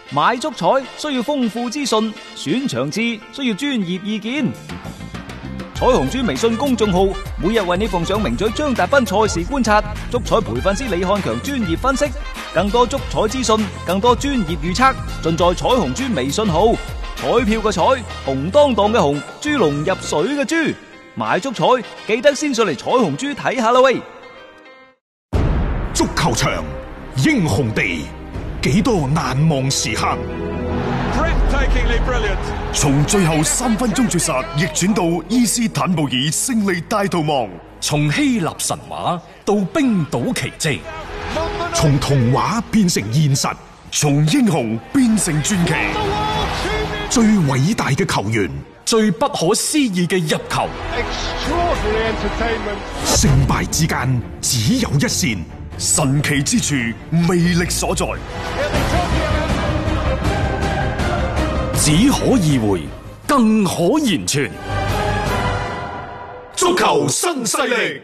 買足彩需要豐富資訊，選場次需要專業意見。彩虹豬微信公眾號每日為你奉上名嘴張達斌賽事觀察，足彩培訓師李漢強專業分析，更多足彩資訊，更多專業預測，盡在彩虹豬微信號。彩票嘅彩，紅當當嘅紅，豬籠入水嘅豬，買足彩記得先上嚟彩虹豬睇下啦喂！ 足球場，英雄地，幾多難忘時刻。從最後3分鐘絕殺逆轉到伊斯坦布爾勝利大逃亡， 從希臘神話到冰島奇蹟， 從童話變成現實，從英雄變成傳奇。最偉大嘅球員， 最不可思議嘅入球， 勝敗之間只有一線，神奇之處魅力所在。 只可意會，更可言傳。 足球新勢力。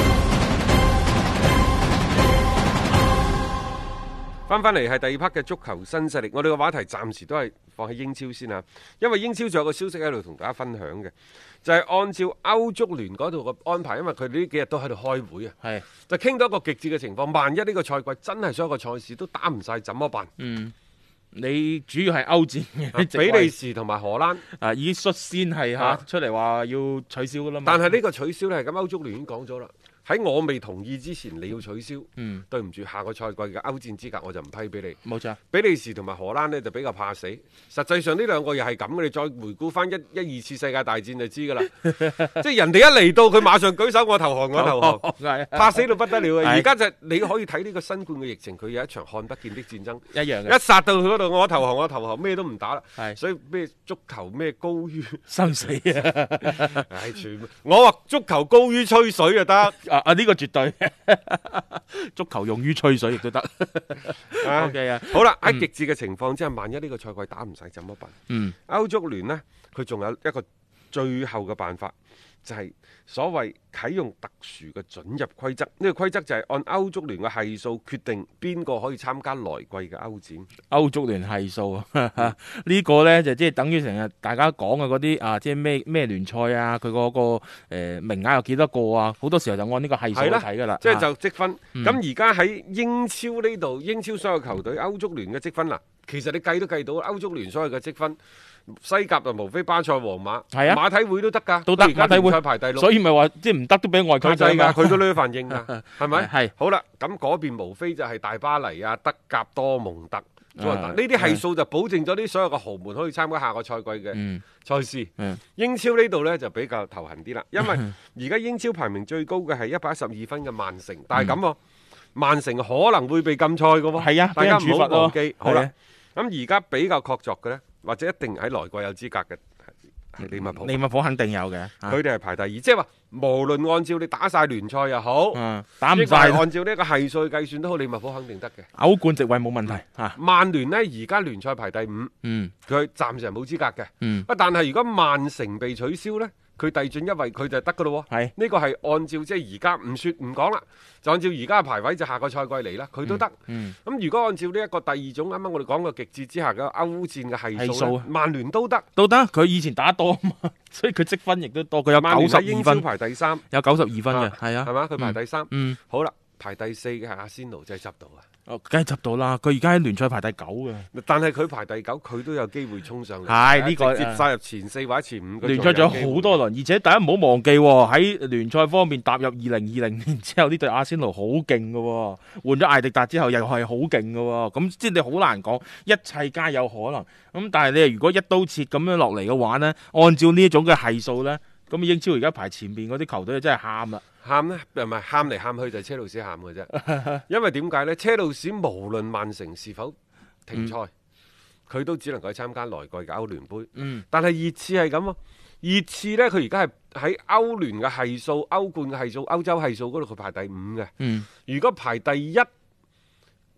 翻嚟係第二 part 嘅足球新勢力，我哋個話題暫時都係放喺英超先啊，因為英超仲有個消息喺度同大家分享嘅，就係按照歐足聯嗰度嘅安排，因為佢哋呢幾日都喺度開會啊，係就傾到一個極致嘅情況，萬一呢個賽季真係所有個賽事都打唔晒，怎麼辦？ 你主要係歐戰嘅比利時同埋荷蘭已經率先係出嚟話要取消噶啦嘛， 但係呢個取消呢，係咁歐足聯已經講咗啦。喺我未同意之前，你要取消。對唔住，下個賽季嘅歐戰資格我就唔批俾你。 冇錯， 比利時同埋荷蘭呢就比較怕死。實際上呢兩個又係咁嘅，你再回顧翻一二次世界大戰就知㗎啦。即係人哋一嚟到，佢馬上舉手，我投降，我投降，怕死到不得了。而家就你可以睇呢個新冠嘅疫情，佢有一場看不見的戰爭， 一樣嘅。 一殺到佢嗰度，我投降，我投降，咩都唔打啦。所以咩足球咩高於生死啊！ 全部我話足球高於吹水就得。 呢個絕對足球用於吹水亦都得。OK 啊， 好啦，喺極致嘅情況之下，萬一呢個賽季打唔晒怎麼辦？歐足聯呢，佢仲有一個最後嘅辦法，就係所謂啟用特殊嘅准入規則。呢個規則就係按歐足聯嘅係數決定邊個可以參加來季嘅歐戰。 歐足聯係數呢個呢，就即係等於成日大家講嘅嗰啲即係咩聯賽啊，佢嗰個名額有幾多個啊？好多時候就按呢個係數去睇㗎啦。 即係就積分。咁而家喺英超呢度，英超所有球隊歐足聯嘅積分其實你計都計到歐足聯所有嘅積分。西甲就無非巴塞、皇馬，馬體會都得㗎， 都得。 馬體會排第6， 所以咪話即係唔得都俾外區制㗎， 佢都呢反應㗎，係咪？ 係好啦，咁嗰邊無非就係大巴黎啊、德甲、多蒙特，呢啲係數就保證咗啲所有嘅豪門可以參加下個賽季嘅賽事。英超呢度呢就比較頭痕啲啦，因為而家英超排名最高嘅係112分嘅曼城，但係咁喎，曼城可能會被禁賽㗎喎。 係啊， 大家唔好忘記。 好啦，咁而家比較確鑿嘅呢，或者一定喺來季有資格嘅係利物浦。 利物浦肯定有嘅， 佢哋係排第2，即係話無論按照你打晒聯賽又好， 打唔晒按照呢個係數計算都好，利物浦肯定得嘅。 歐冠席位冇問題。 曼聯呢而家聯賽排第5，佢暫時係冇資格嘅。但係如果曼城被取消呢，佢遞進一位佢就得噶咯。係呢個係按照即係而家唔說唔講啦，就按照而家嘅排位就下個賽季嚟啦，佢都得。咁如果按照呢一個第2種啱啱我哋講嘅極致之下嘅歐戰嘅係數，曼聯都得。佢以前打多啊嘛，所以佢積分亦都多。佢有92分， 排第3， 有92分嘅，係啊， 係嘛？佢排第3。好啦，排第4嘅係阿仙奴，真係執到啊！ 梗係執到啦！佢而家喺聯賽排第9嘅， 但係佢排第9，佢都有機會衝上嚟。 係呢個直接殺入前4或者前5。 聯賽仲有好多輪，而且大家唔好忘記喺聯賽方面踏入2020年之後，呢隊阿仙奴好勁嘅，換咗艾迪達之後又係好勁嘅，咁即係你好難講，一切皆有可能。咁但係你如果一刀切咁樣落嚟嘅話呢，按照呢一種嘅係數呢，咁英超而家排前邊嗰啲球隊真係喊啦！ 喊呢，唔係喊嚟喊去就係車路士喊嘅啫。因為點解呢？車路士無論曼城是否停賽，佢都只能夠參加來季嘅歐聯杯。但係熱刺係咁喎，熱刺呢，佢而家係喺歐聯嘅係數、歐冠嘅係數、歐洲係數嗰度佢排第5嘅。如果排第1、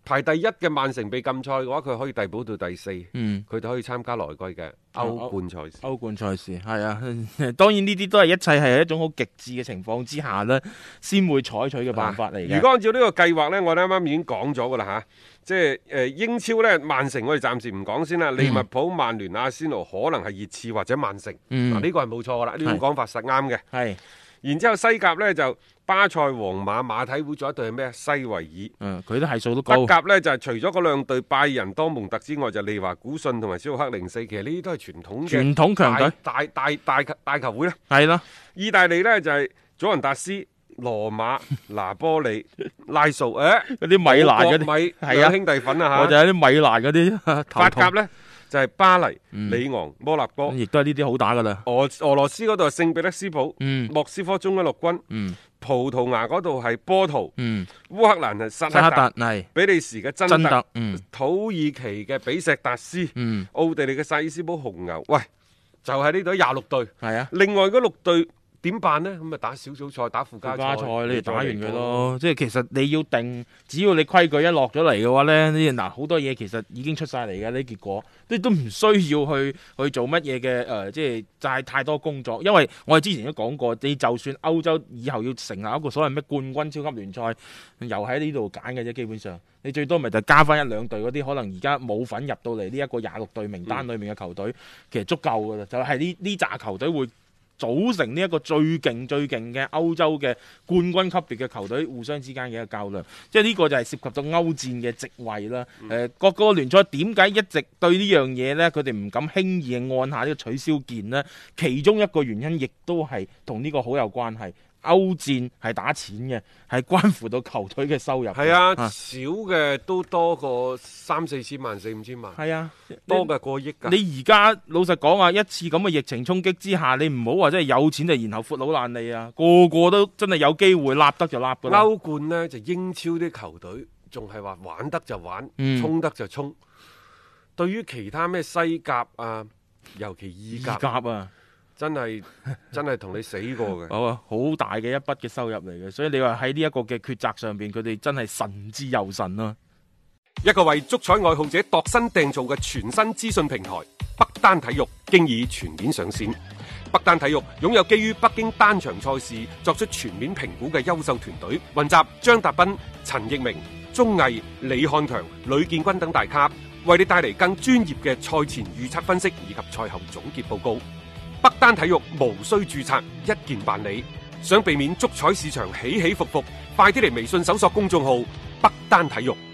排第一嘅曼城被禁賽嘅話，佢可以遞補到第四，佢就可以參加來季嘅歐冠賽事。 歐冠賽事係啊，當然呢啲都係一切係一種好極致嘅情況之下呢，先會採取嘅辦法嚟嘅。 如果按照呢個計劃呢，我哋啱啱已經講咗噶啦嚇，即係英超呢，曼城我哋暫時唔講先啦。利物浦、曼聯、阿仙奴可能係熱刺或者曼城，呢個係冇錯噶啦，呢種講法實啱嘅。 係。 然之後西甲呢，就巴塞、皇馬、馬體會，仲有一隊係咩？西維爾。 佢都係數都高。 德甲呢，就係除咗嗰兩隊拜仁、多蒙特之外，就利華古遜同埋肖克零四。其實呢啲都係傳統強隊，大球會啦。 係啦。 意大利呢，就係祖雲達斯、羅馬、拿波利、拉素。嗰啲米蘭嗰啲兩兄弟粉啊嚇。 我就係啲米蘭嗰啲。 法甲呢，就係巴黎、里昂、摩納哥， 亦都係呢啲好打噶啦。 俄羅斯嗰度係聖彼得斯堡、莫斯科中央陸軍，葡萄牙嗰度係波圖，烏克蘭係薩克達，比利時嘅真特，土耳其嘅比錫達斯，奧地利嘅薩爾斯堡紅牛。喂，就係呢度26隊，係啊，另外嗰6隊。點辦呢？咁咪打小組賽，打附加賽， 你打完佢咯。即係其實你要定，只要你規矩一落咗嚟嘅話呢，嗱好多嘢其實已經出晒嚟嘅呢結果，都唔需要去做乜嘢嘅即係就係太多工作。因為我哋之前都講過，你就算歐洲以後要成立一個所謂咩冠軍超級聯賽，又喺呢度揀嘅啫。基本上你最多咪就加翻1-2隊嗰啲可能而家冇份入到嚟呢一個26隊名單裏面嘅球隊，其實足夠噶啦。就係呢紮球隊會組成呢一個最勁嘅歐洲嘅冠軍級別嘅球隊互相之間嘅一個較量，即係呢個就係涉及到歐戰嘅席位啦。各個聯賽點解一直對呢樣嘢呢？佢哋唔敢輕易按下呢個取消鍵呢？其中一個原因亦都係同呢個好有關係。歐戰係打錢嘅，係關乎到球隊嘅收入。 係啊，少嘅都多過3-4千萬、4-5千萬。係啊，多嘅過億㗎。你而家老實講啊，一次咁嘅疫情衝擊之下，你唔好話真係有錢就然後闊佬爛利啊，個個都真係有機會立得就立㗎啦。 歐冠呢，就英超啲球隊仲係話玩得就玩，衝得就衝。對於其他咩西甲啊，尤其意甲啊。 真係同你死過嘅， 好大嘅一筆嘅收入嚟嘅，所以你話喺呢一個嘅抉擇上邊，佢哋真係神之又神啦。 一個為足彩愛好者度身訂造嘅全新資訊平台北單體育，經已全面上線。北單體育擁有基於北京單場賽事作出全面評估嘅優秀團隊，雲集張達斌、陳奕明、鐘毅、李漢強、呂建軍等大咖，為你帶嚟更專業嘅賽前預測分析以及賽後總結報告。北單體育無需註冊，一鍵辦理。想避免足彩市場起起伏伏，快啲嚟微信搜索公眾號北單體育。